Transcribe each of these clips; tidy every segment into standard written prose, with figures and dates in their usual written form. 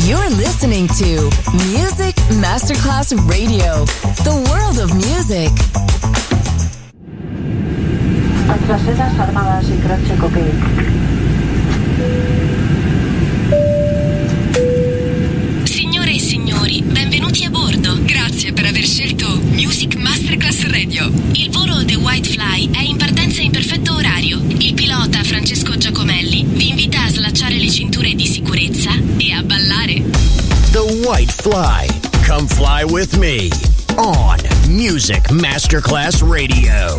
You're listening to Music Masterclass Radio, the world of music. Antracedas armadas y crache cocaine. Signore e signori, benvenuti a bordo. Grazie per aver scelto Music Masterclass Radio. Il volo The White Fly è in partenza in perfetto orario. Il pilota Francesco Giacomelli vi invita a slacciare le cinture di sicurezza e a ballare. The White Fly. Come fly with me on Music Masterclass Radio.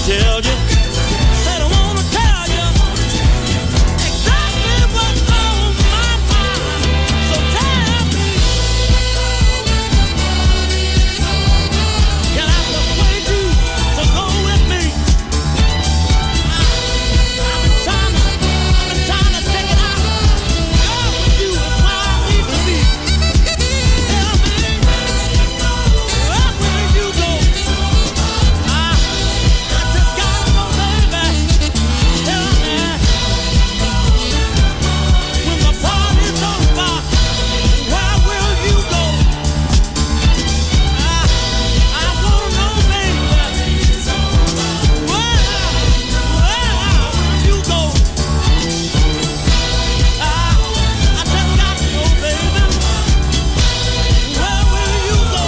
tell you. Said I wanna tell you exactly what's on my mind. So tell me, can I persuade you to go with me? I've been trying to take it out. Go with you is where I need to be. Tell me, where will you go? I just gotta know, baby. Tell me, when the party's over, where will you go? I wanna know, baby. Where will you go? I just got to know, baby. Where will you go?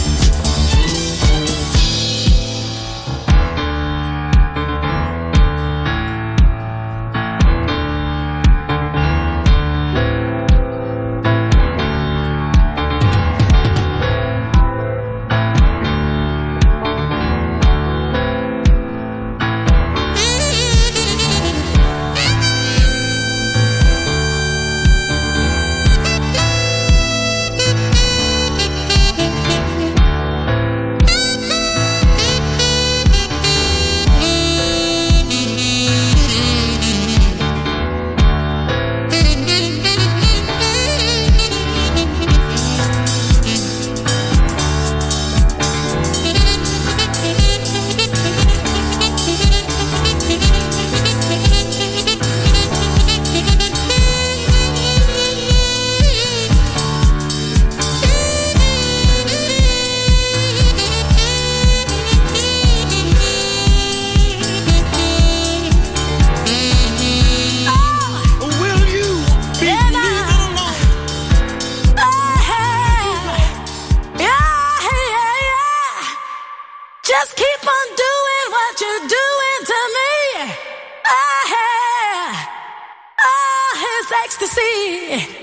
Will you be leaving alone? Just keep on doing what you're doing to me. It's ecstasy.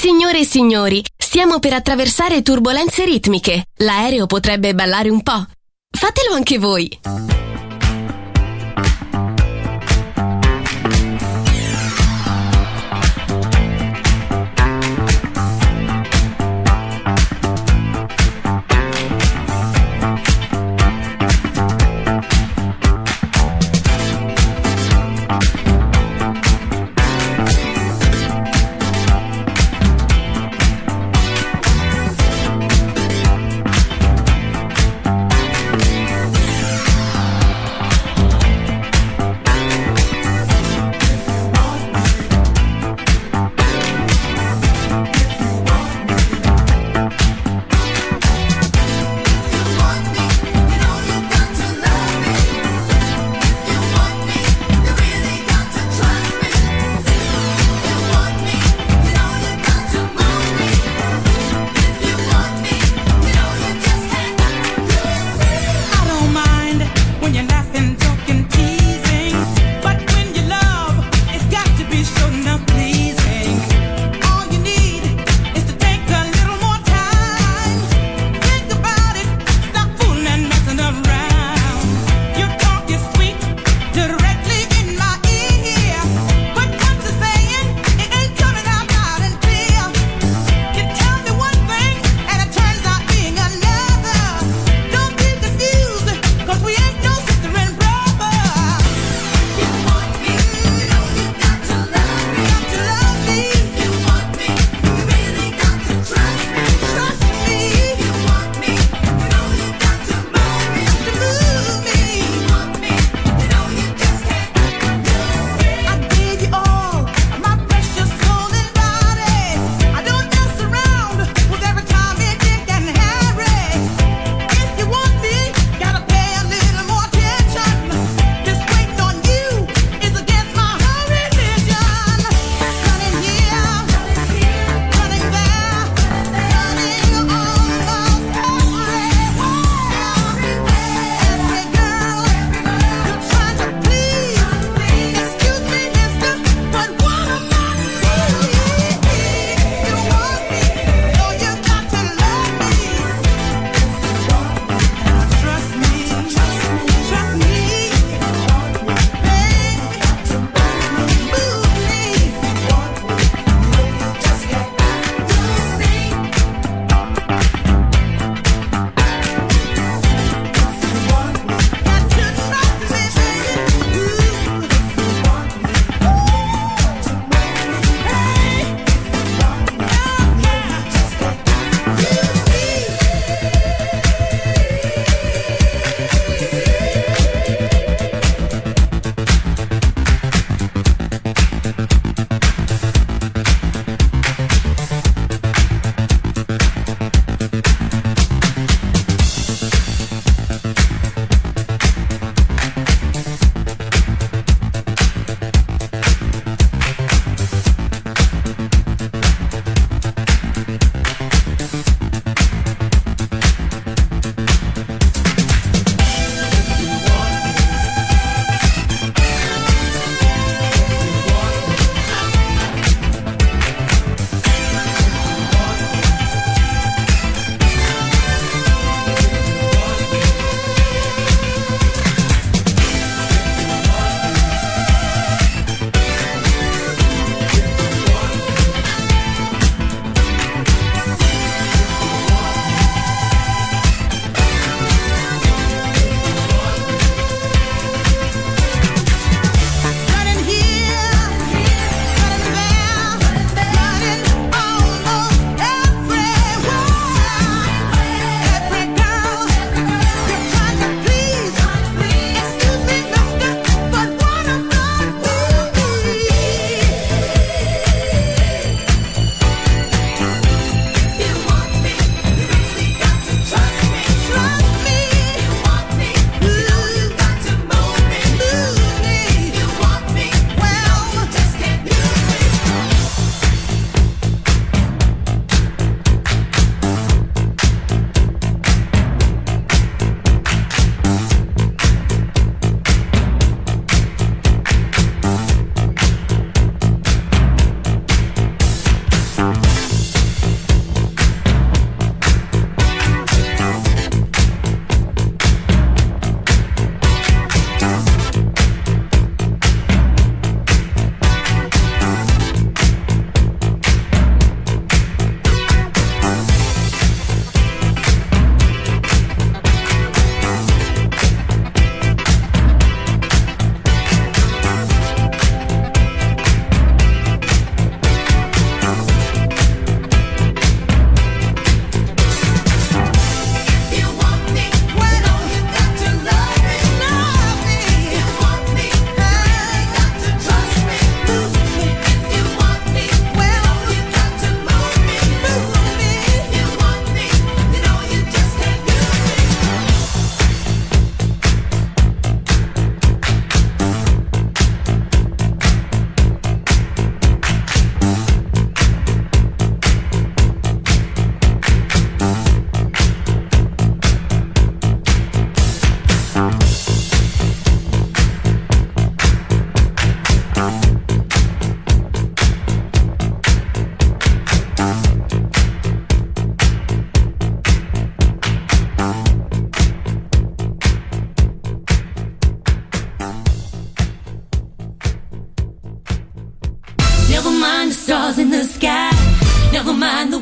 Signore e signori, stiamo per attraversare turbolenze ritmiche. L'aereo potrebbe ballare un po'. Fatelo anche voi.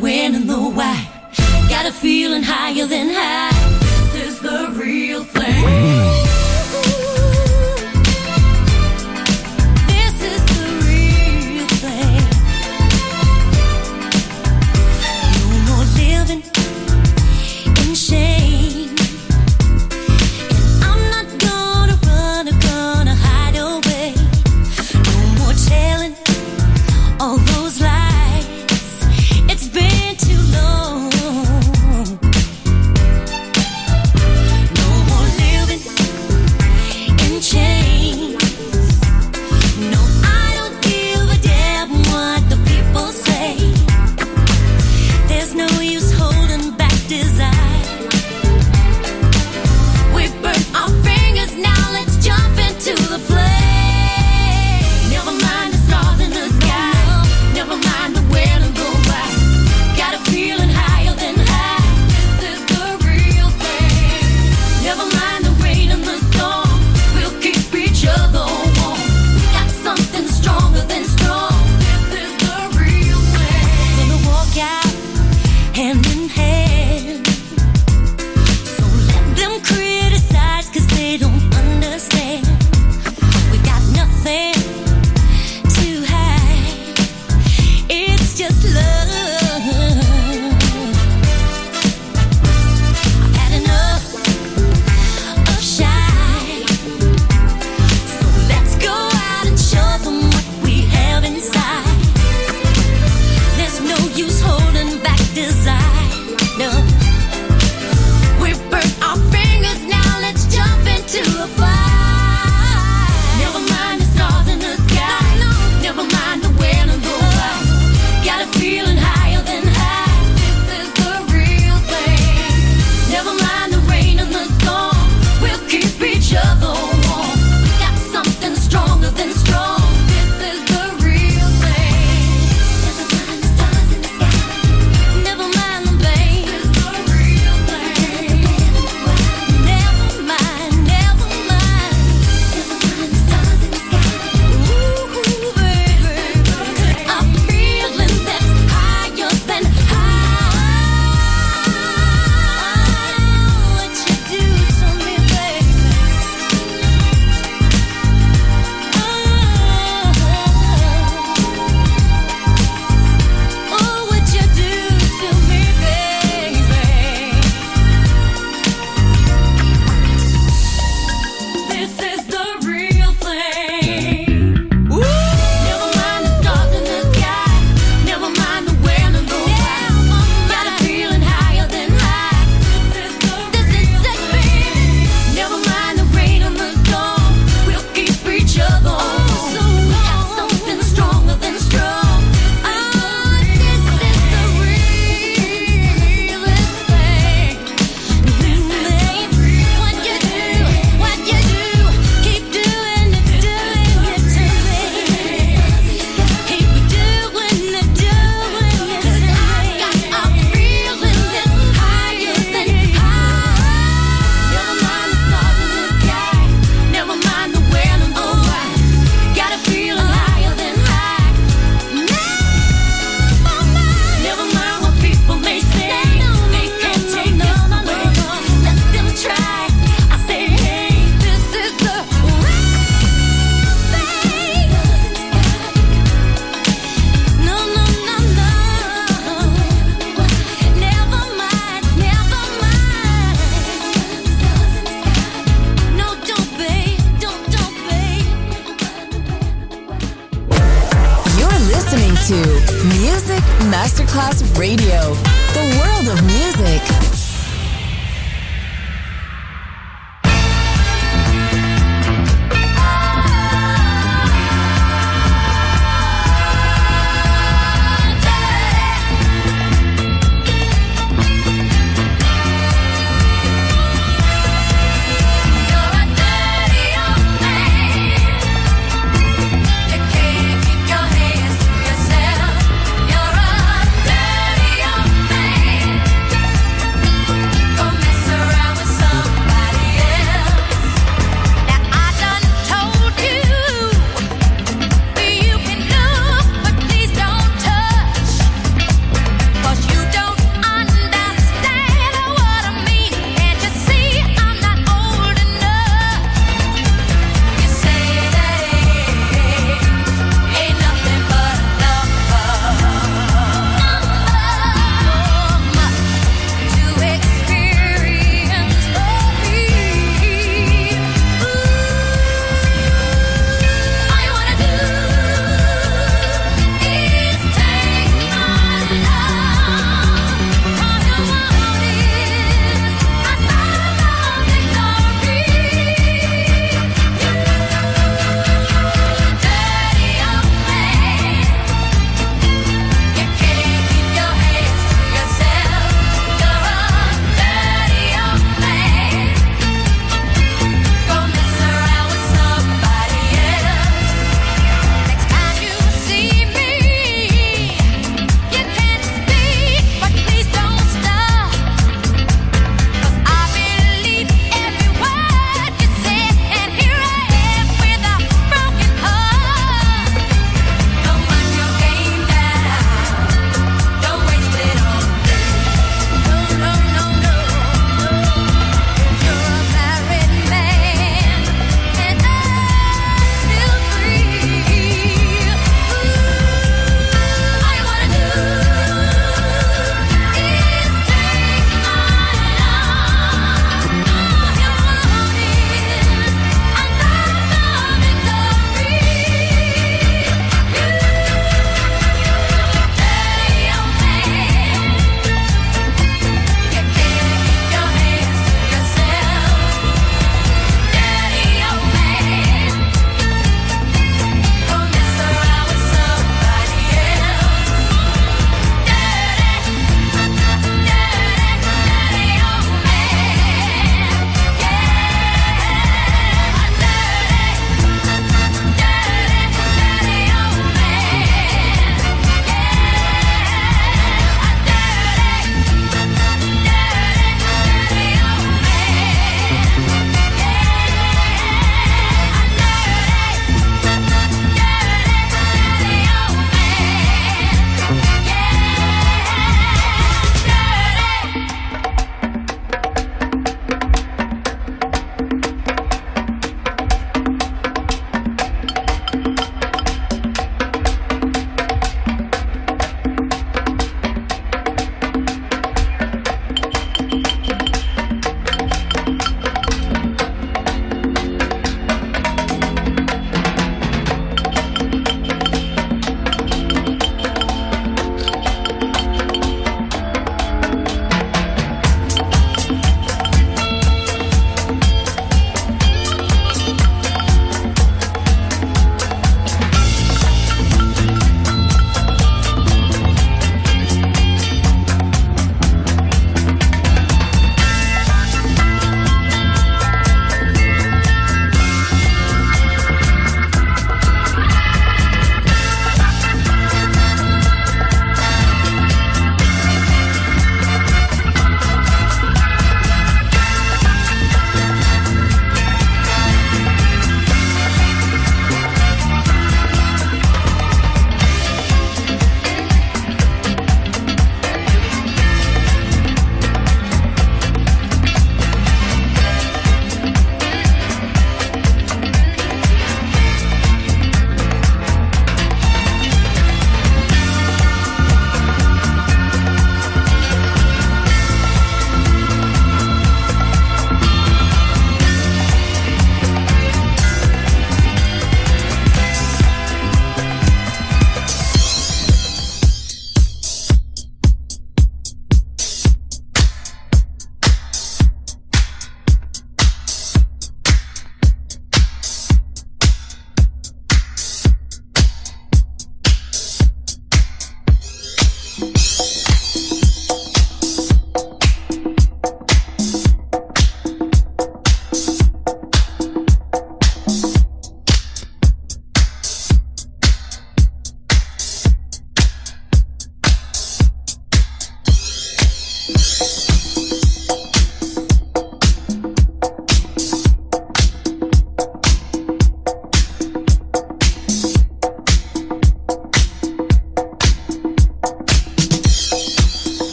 when and the why. Got a feeling higher than high. This is the real thing. This is the real thing. No more living in shame. And I'm not gonna run or gonna hide away. No more telling all those lies. It's been too long. No more living in chains. No, I don't give a damn what the people say. There's no use holding back desire. We burnt our fingers, now let's jump into the flame. Never mind the stars in the sky. Never mind the when and the why. Got a feeling higher than high. This is the real thing. Never mind the rain and the storm. We'll keep each other warm. We got something stronger than strong. This is the real thing. Gonna walk out hand in hand. So let them criticize, 'cause they don't understand. We got nothing to hide. It's just love. I've had enough of shy. So let's go out and show them what we have inside. There's no use holding back desire. No. We burnt our fingers, now let's jump into the fire. Never mind the stars in the sky. Never mind the when and the why. Got a feeling higher than high. This is the real thing. Never mind the rain and the storm. We'll keep each other warm. We got something stronger than strong. This is the real thing. Never mind the stars in the sky. Never mind the pain. This is the real thing. Never mind, never mind. Never mind the stars in the sky. Ooh, baby. A feeling that's higher than high. What you do to me, baby. Oh, what you do to me, baby. This is the real thing. Never mind the stars in the sky. Never mind the when and the why. Got a feeling higher than high. This is the real thing. Never mind the rain and the storm. We'll keep each other warm. We got something stronger than strong. This is the realest thing. What you do, keep doing it to me. Keep doing it to me. 'Cause I got a feeling that's higher than high. Never mind the stars in the sky. Never mind the when and the why. Got a feeling higher than high. Never mind what people may say. They can't take this away. Let them try. I say, hey, this is the real thing. No, no, no, no. Never mind, never mind. No, don't, babe, don't, babe. You're listening to Music Masterclass Radio, the world of music. You're a dirty old man. You can't keep your hands to yourself. You're a dirty old man.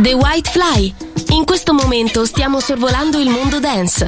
The White Fly. In questo momento stiamo sorvolando il mondo dance.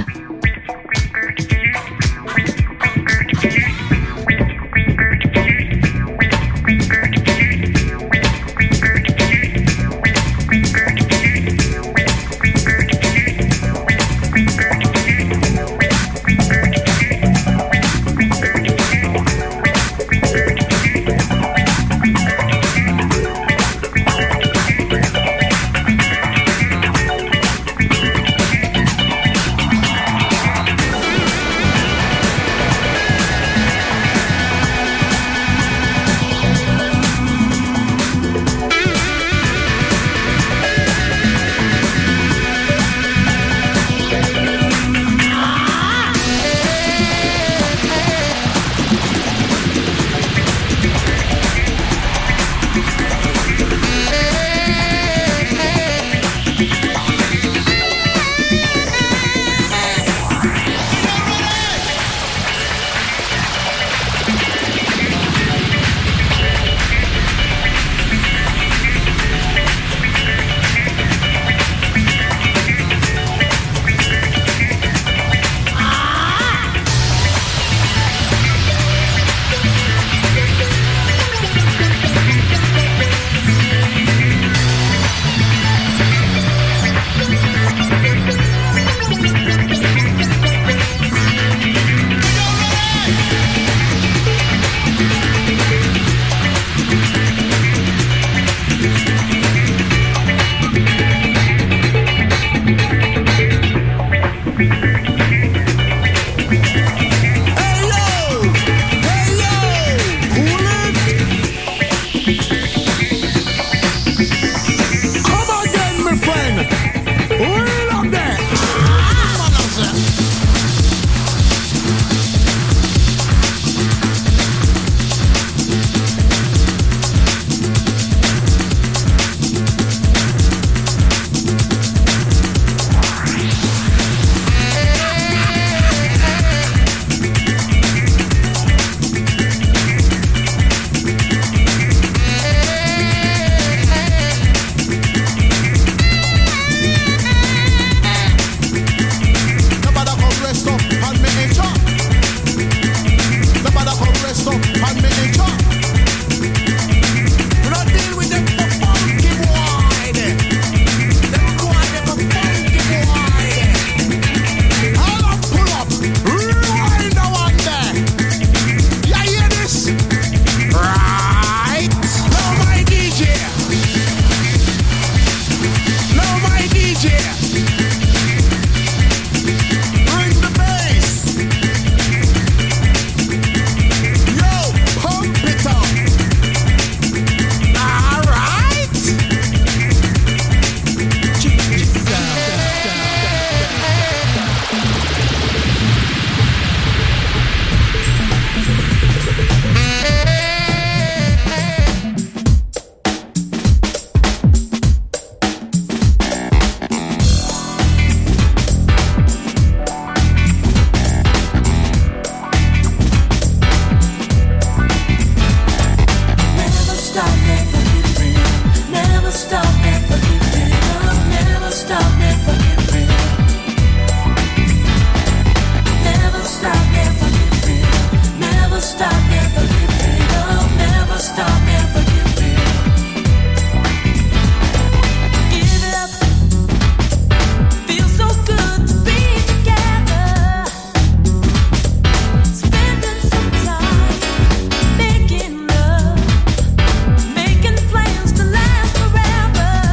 Making plans to last forever.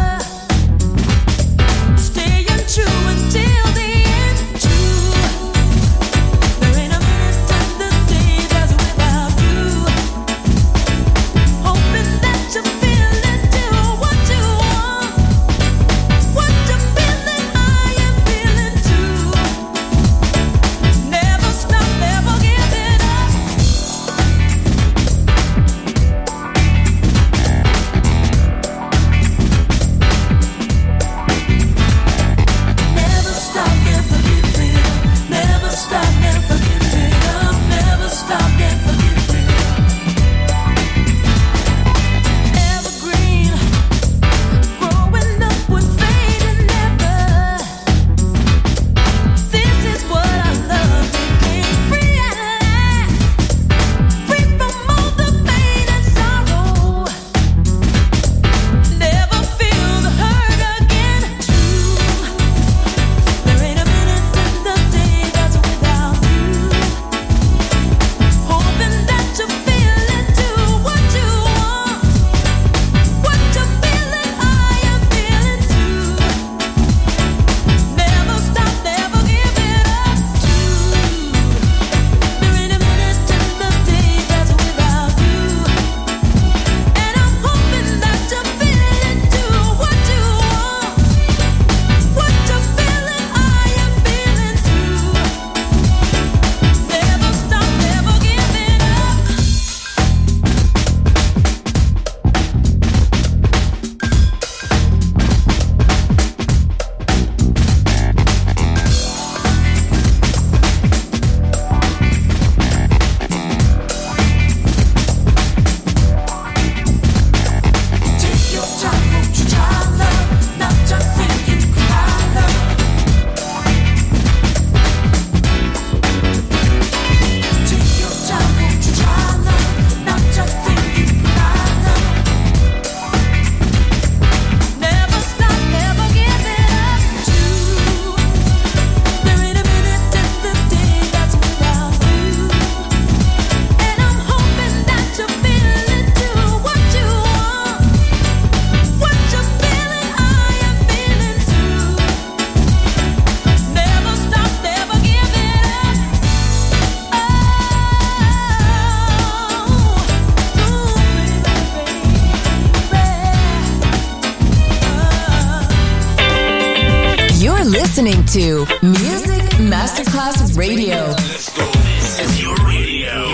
listening to Music Masterclass Radio. Let's go. This is your radio.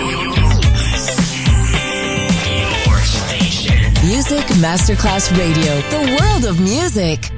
Your station. Music Masterclass Radio. The world of music.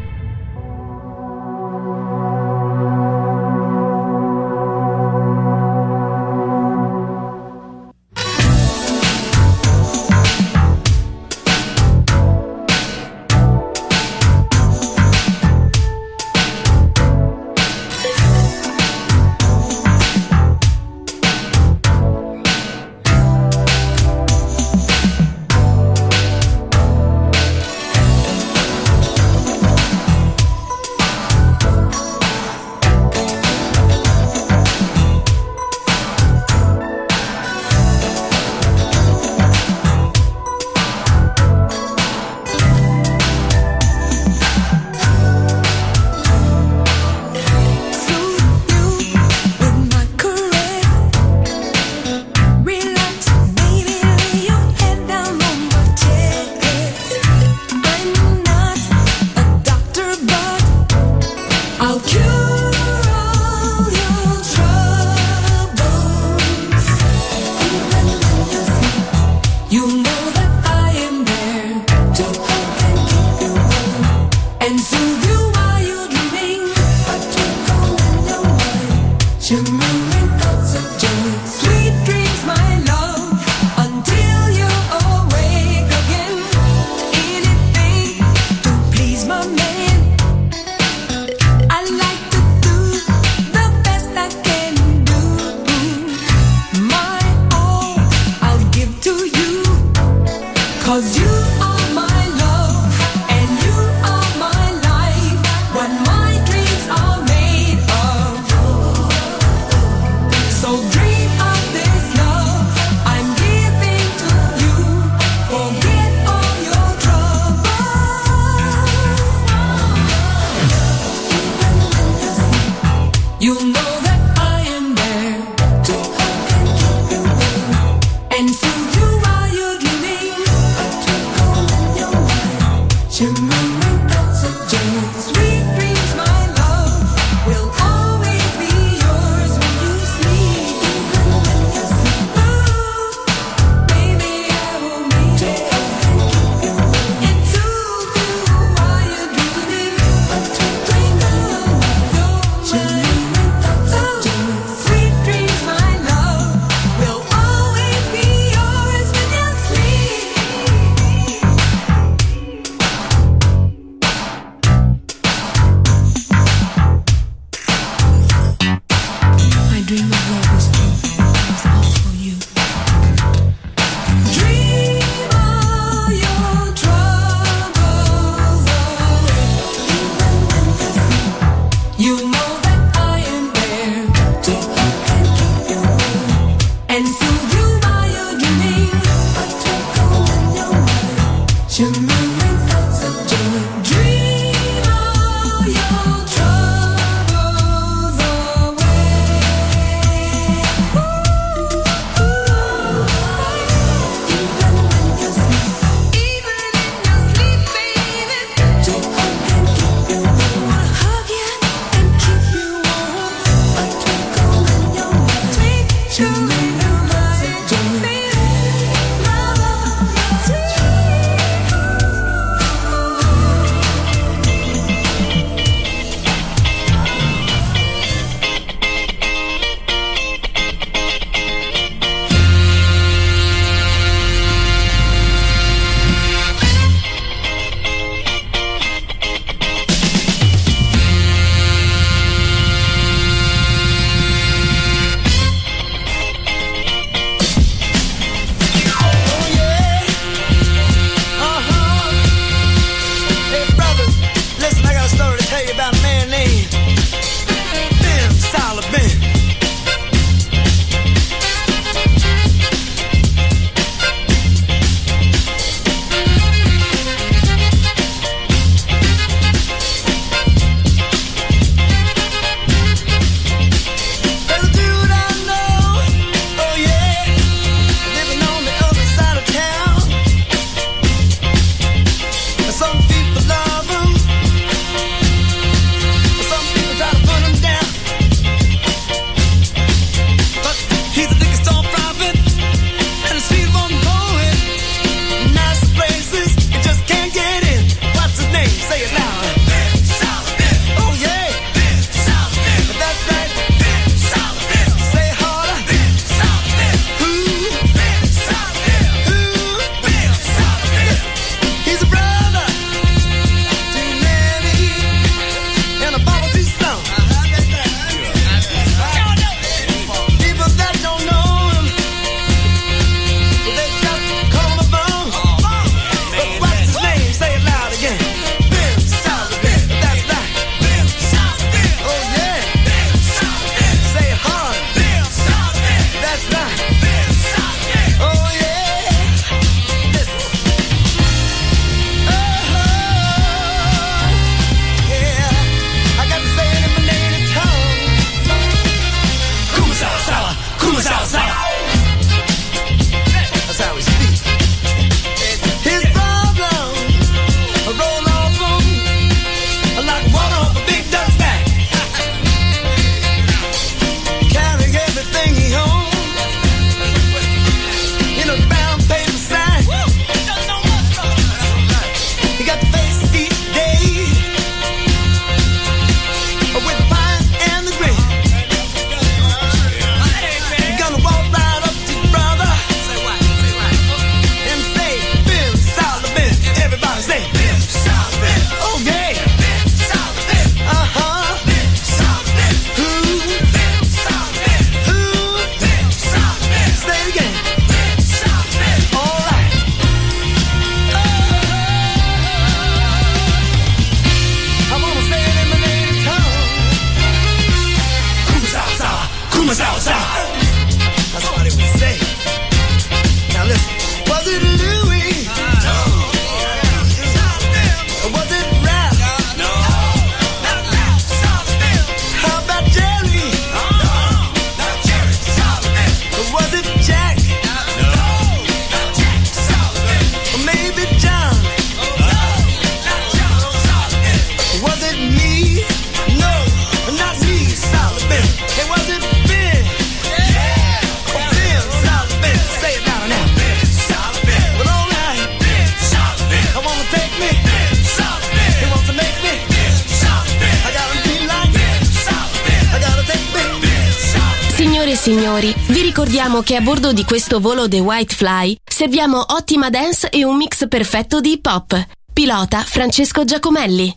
signori, vi ricordiamo che a bordo di questo volo The White Fly serviamo ottima dance e un mix perfetto di hip hop. Pilota Francesco Giacomelli.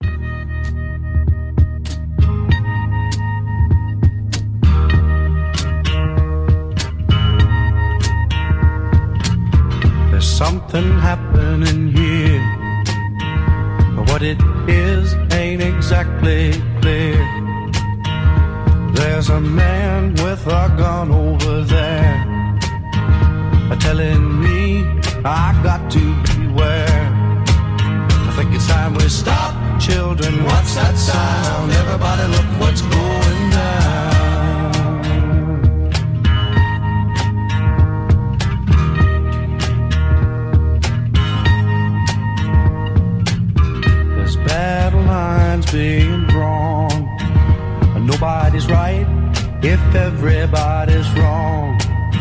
There's something happening here, but what it is ain't exactly clear. There's a man with a gun over there, telling me I got to beware. I think it's time we stop, children. What's that sound? Everybody look what's going down. There's battle lines being drawn. Nobody's right if everybody's wrong.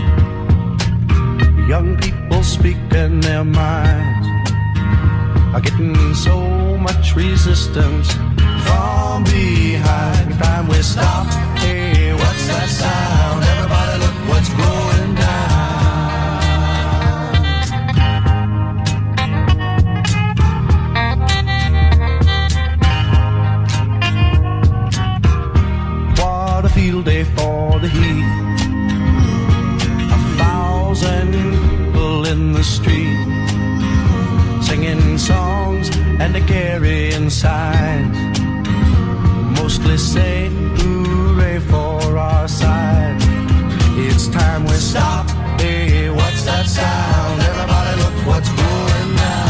Young people speaking their minds are getting so much resistance from behind. Time we stop. Hey, what's that sound? Everybody look what's going down. What a field day for the heat. 1,000 people in the street, singing songs and carrying signs, mostly say hooray for our side. It's time we stop. Hey, what's that sound? Everybody look what's going down.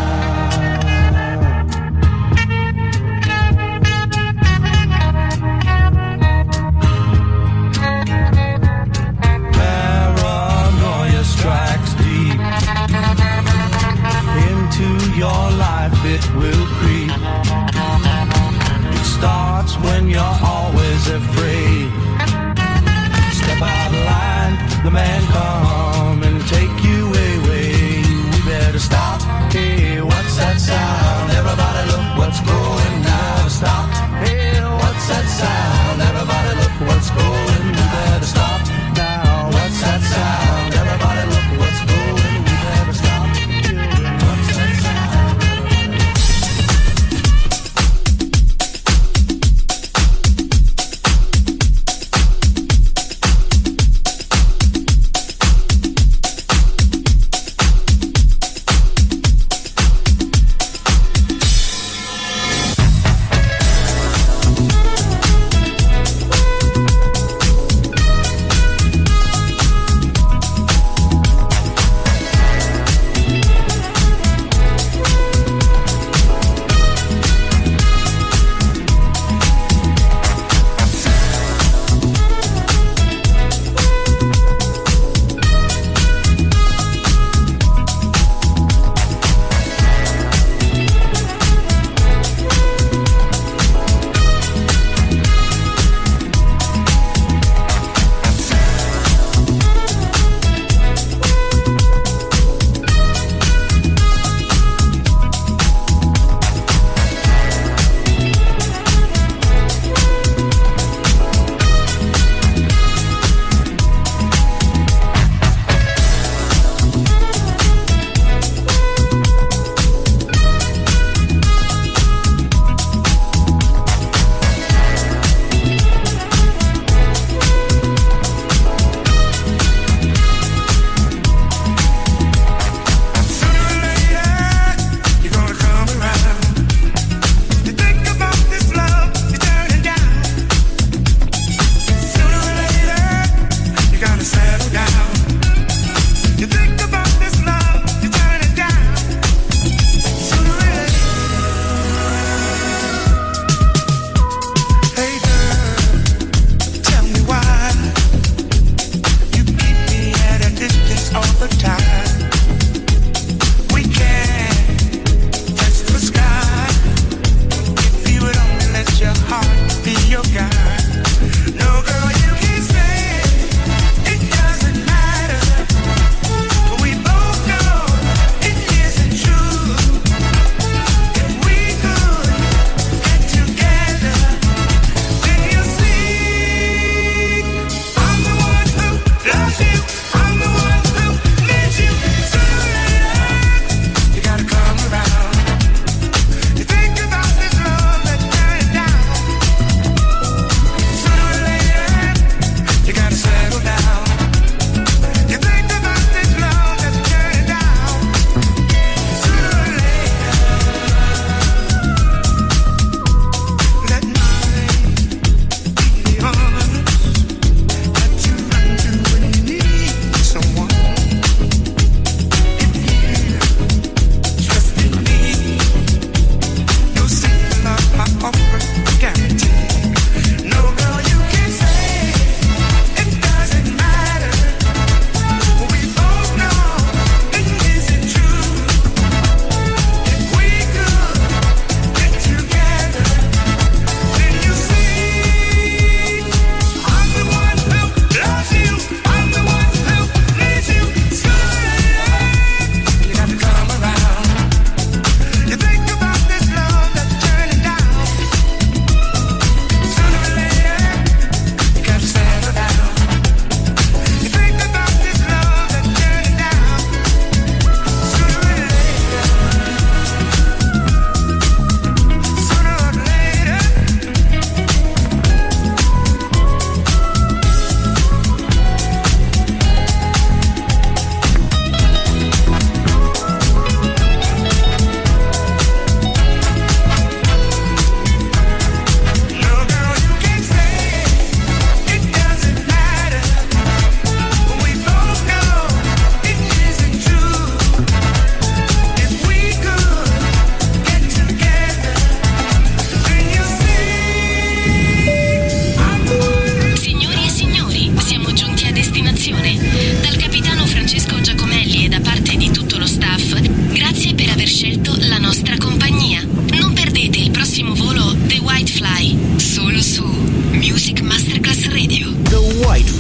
Paranoia strikes deep into your life, it will creep. It starts when you're always afraid. Step out of line, the man come and take you away. We better stop. Hey, what's that sound? Everybody look what's going down. Stop. Hey, what's that sound? Everybody look what's going. We better stop now. What's that sound? Everybody look what's going. We better stop. What's that sound?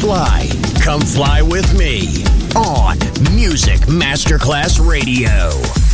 fly. Come fly with me on Music Masterclass Radio.